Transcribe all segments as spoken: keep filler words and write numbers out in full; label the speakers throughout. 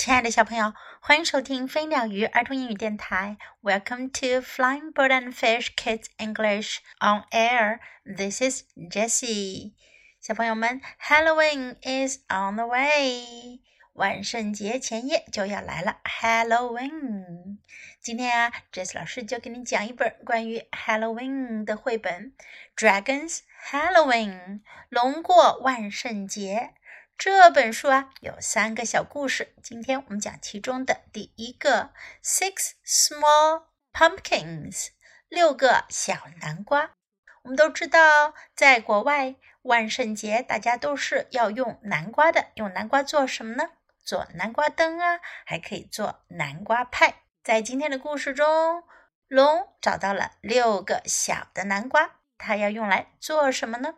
Speaker 1: 亲爱的小朋友，欢迎收听飞鸟鱼儿童英语电台。Welcome to Flying Bird and Fish Kids English on Air. This is Jessie. 小朋友们 ，Halloween is on the way. 万圣节前夜就要来了 ，Halloween。今天啊 ，Jessie 老师就给你讲一本关于 Halloween 的绘本，《Dragons Halloween》龙过万圣节。这本书啊有三个小故事，今天我们讲其中的第一个 Six Small Pumpkins 六个小南瓜。我们都知道在国外万圣节大家都是要用南瓜的，用南瓜做什么呢？做南瓜灯啊，还可以做南瓜派。在今天的故事中，龙找到了六个小的南瓜，它要用来做什么呢？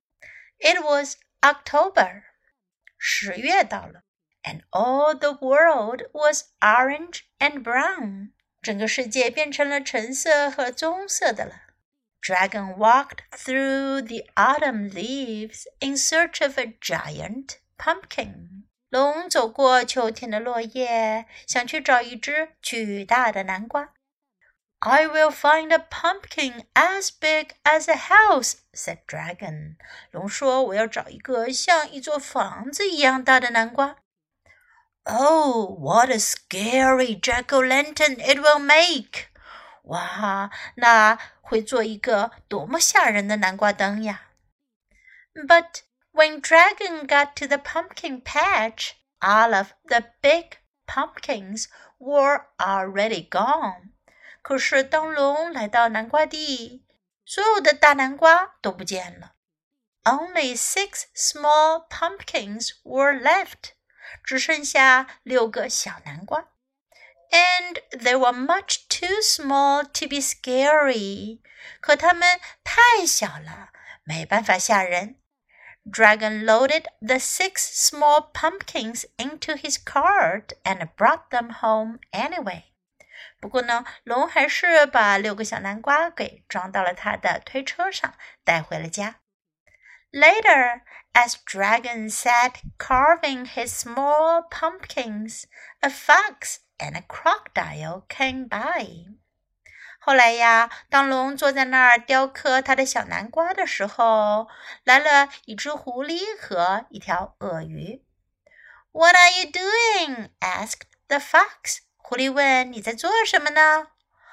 Speaker 1: It was October十月到了 and all the world was orange and brown. 整个世界变成了橙色和棕色的了。Dragon walked through the autumn leaves in search of a giant pumpkin. 龙走过秋天的落叶，想去找一只巨大的南瓜。I will find a pumpkin as big as a house, said Dragon. 龙说，我要找一个像一座房子一样大的南瓜。Oh, what a scary jack-o'-lantern it will make! 哇，那会做一个多么吓人的南瓜灯呀。But when Dragon got to the pumpkin patch, all of the big pumpkins were already gone.可是当龙来到南瓜地，所有的大南瓜都不见了。Only six small pumpkins were left. 只剩下六个小南瓜。And they were much too small to be scary. 可它们太小了，没办法吓人。Dragon loaded the six small pumpkins into his cart and brought them home anyway.不过呢，龙还是把六个小南瓜给装到了他的推车上，带回了家。Later, as Dragon sat carving his small pumpkins, a fox and a crocodile came by. 后来呀，当龙坐在那儿雕刻他的小南瓜的时候，来了一只狐狸和一条鳄鱼。What are you doing? asked the fox.狐狸问，你在做什么呢？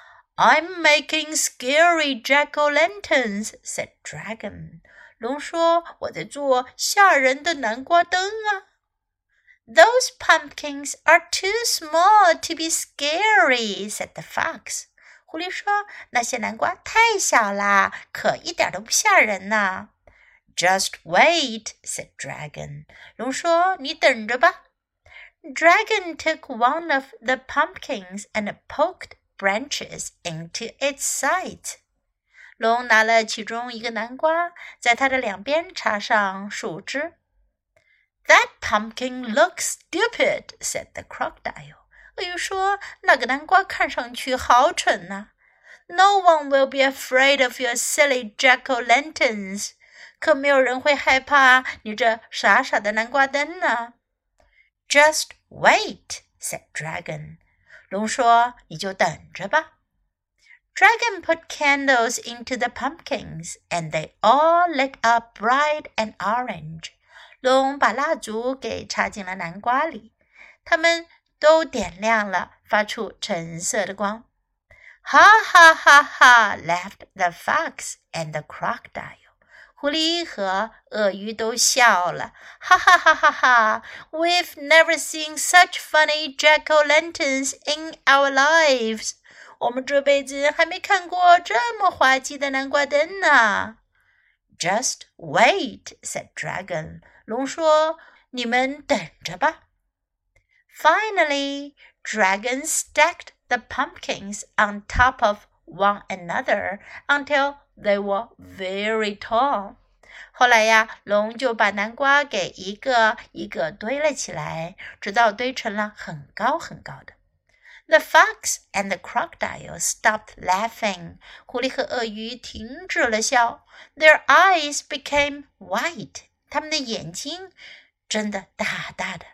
Speaker 1: I'm making scary jack-o'-lanterns, said Dragon. 龙说，我在做吓人的南瓜灯啊。Those pumpkins are too small to be scary, said the fox. 狐狸说，那些南瓜太小啦，可一点都不吓人呢。Just wait, said Dragon. 龙说，你等着吧。Dragon took one of the pumpkins and poked branches into its sides. 龙拿了其中一个南瓜，在它的两边插上树枝。That pumpkin looks stupid, said the crocodile. 鳄鱼说，那个南瓜看上去好蠢呐。No one will be afraid of your silly jack-o'-lanterns. 可没有人会害怕你这傻傻的南瓜灯呢。Just wait, said Dragon. 龙说，你就等着吧。Dragon put candles into the pumpkins, and they all lit up bright and orange. 龙把蜡烛给插进了南瓜里，它们都点亮了，发出橙色的光。Ha ha ha ha, laughed the fox and the crocodile.狐狸和鳄鱼都笑了，哈哈哈哈哈 We've never seen such funny jack-o'-lanterns in our lives. 我们这辈子还没看过这么滑稽的南瓜灯呢。Just wait, said Dragon. 龙说，你们等着吧。Finally, Dragon stacked the pumpkins on top of one another until they were very tall. 后来呀，龙就把南瓜给一个一个堆了起来，直到堆成了很高很高的。The fox and the crocodile stopped laughing. 狐狸和鳄鱼停止了笑。Their eyes became white. 他们的眼睛真的大大的。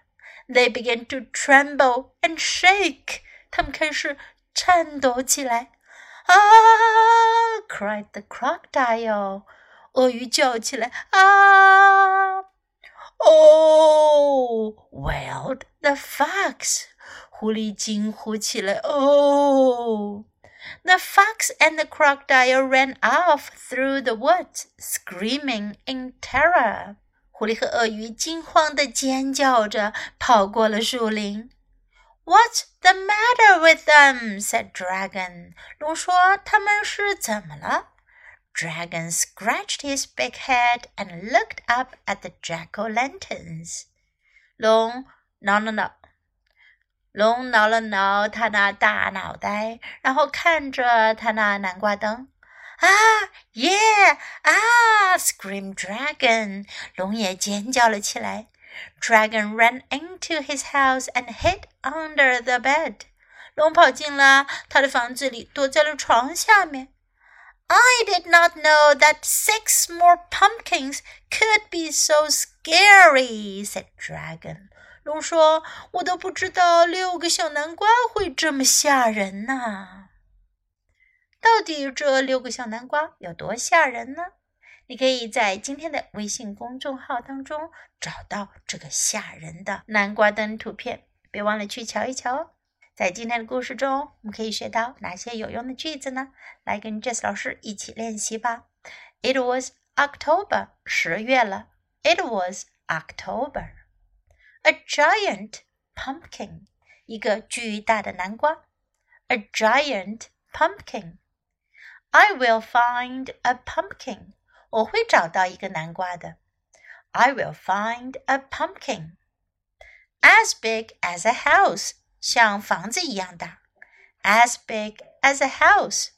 Speaker 1: They began to tremble and shake. 他们开始颤抖起来。啊 cried the crocodile. 鳄鱼叫起来。啊 Oh, wailed the fox. 狐狸惊呼起来。Oh. The fox and the crocodile ran off through the woods, screaming in terror. 狐狸和鳄鱼惊慌地尖叫着跑过了树林。What's the matter with them? said Dragon. 龙说他们是怎么了？ Dragon scratched his big head and looked up at the jack-o'-lanterns. 龙挠挠挠龙挠了挠他那大脑袋，然后看着他那南瓜灯。啊 Yeah! 啊 Screamed Dragon! 龙也尖叫了起来。Dragon ran into his house and hid under the bed. 龙跑进了他的房子里，躲在了床下面。I did not know that six more pumpkins could be so scary, said Dragon. 龙说，我都不知道六个小南瓜会这么吓人呢。到底这六个小南瓜有多吓人呢？你可以在今天的微信公众号当中找到这个吓人的南瓜灯图片，别忘了去瞧一瞧哦。在今天的故事中，我们可以学到哪些有用的句子呢？来跟 Jess 老师一起练习吧。It was October, 十月了。It was October.A giant pumpkin, 一个巨大的南瓜。A giant pumpkin. I will find a pumpkin. 我会找到一个南瓜的。I will find a pumpkin. As big as a house, 像房子一样大。As big as a house.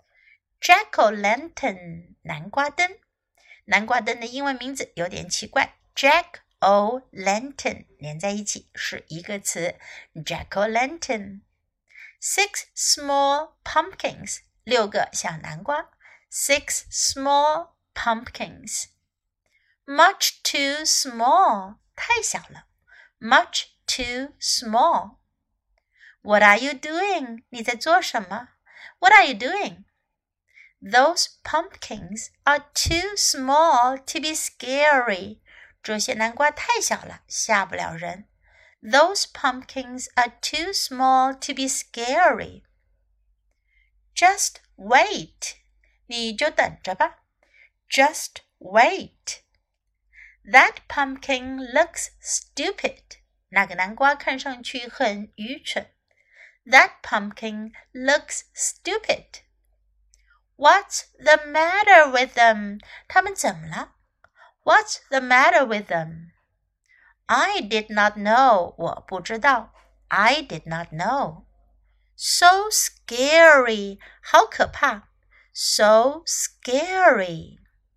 Speaker 1: Jack-o'-lantern, 南瓜灯。南瓜灯的英文名字有点奇怪。Jack-o'-lantern 连在一起是一个词 Jack-o'-lantern. Six small pumpkins 六个小南瓜 Six small pumpkins. Much too small 太小了 Much too small. What are you doing? 你在做什么 What are you doing? Those pumpkins are too small to be scary.这些南瓜太小了，吓不了人。Those pumpkins are too small to be scary. Just wait. 你就等着吧。Just wait. That pumpkin looks stupid. 那个南瓜看上去很愚蠢。That pumpkin looks stupid. What's the matter with them? 他们怎么了？What's the matter with them? I did not know. 我不知道。I did not know. So scary. 好可怕。So scary.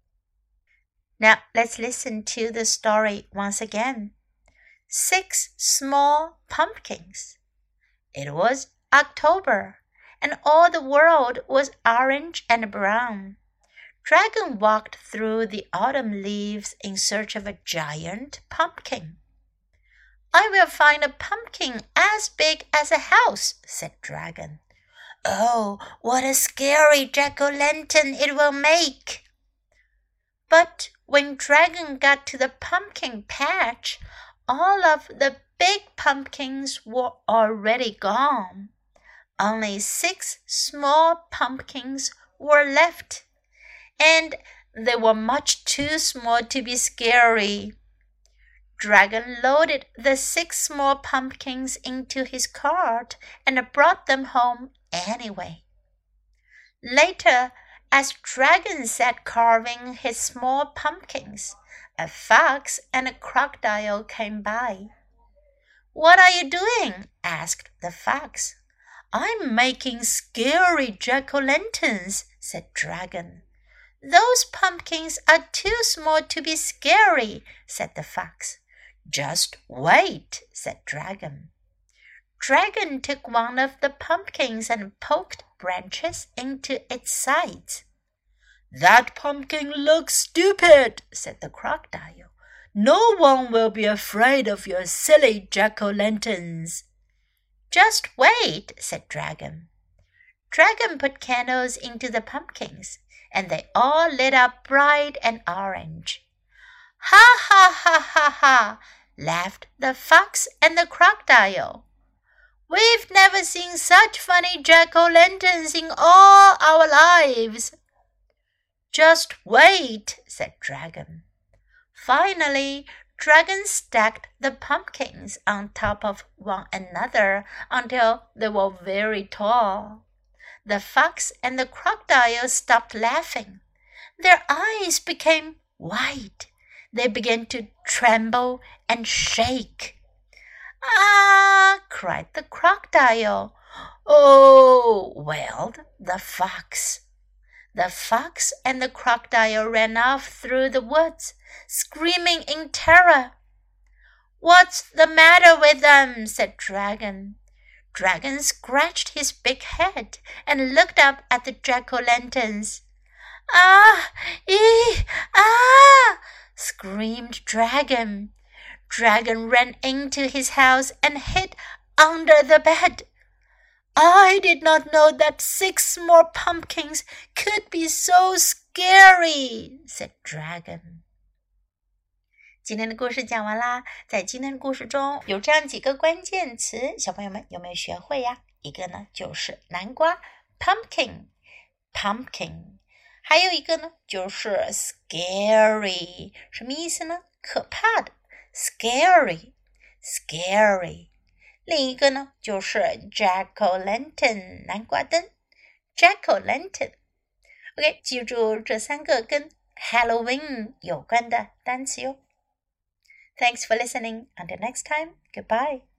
Speaker 1: Now let's listen to the story once again. Six small pumpkins. It was October, and all the world was orange and brown.Dragon walked through the autumn leaves in search of a giant pumpkin. I will find a pumpkin as big as a house, said Dragon. Oh, what a scary jack-o'-lantern it will make! But when Dragon got to the pumpkin patch, all of the big pumpkins were already gone. Only six small pumpkins were left.And they were much too small to be scary. Dragon loaded the six small pumpkins into his cart and brought them home anyway. Later, as Dragon sat carving his small pumpkins, a fox and a crocodile came by. What are you doing? asked the fox. I'm making scary jack-o'-lanterns, said Dragon.Those pumpkins are too small to be scary, said the fox. Just wait, said Dragon. Dragon took one of the pumpkins and poked branches into its sides. That pumpkin looks stupid, said the crocodile. No one will be afraid of your silly jack-o'-lanterns. Just wait, said Dragon. Dragon put candles into the pumpkins, and they all lit up bright and orange. Ha, ha, ha, ha, ha, laughed the fox and the crocodile. We've never seen such funny jack-o'-lanterns in all our lives. Just wait, said Dragon. Finally, Dragon stacked the pumpkins on top of one another until they were very tall. The fox and the crocodile stopped laughing. Their eyes became white. They began to tremble and shake. Ah! cried the crocodile. Oh! wailed the fox. The fox and the crocodile ran off through the woods, screaming in terror. What's the matter with them? said Dragon. Dragon scratched his big head and looked up at the jack-o'-lanterns. Ah! Ee! Ah! screamed Dragon. Dragon ran into his house and hid under the bed. I did not know that six more pumpkins could be so scary, said Dragon. 今天的故事讲完啦，在今天的故事中有这样几个关键词，小朋友们有没有学会呀？一个呢就是南瓜 pumpkin pumpkin， 还有一个呢就是 scary， 什么意思呢？可怕的 scary scary。另一个呢就是 jack-o'-lantern 南瓜灯 jack-o'-lantern。 OK， 记住这三个跟 Halloween 有关的单词哟。Thanks for listening. Until next time, goodbye.